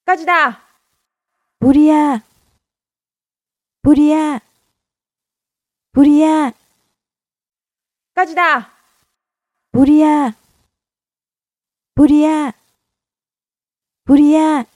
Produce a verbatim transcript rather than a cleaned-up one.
火事だ。 ブリアー、ブリアー、ブリアー、 火事だ。 ブリアー、ブリアー、ブリアー。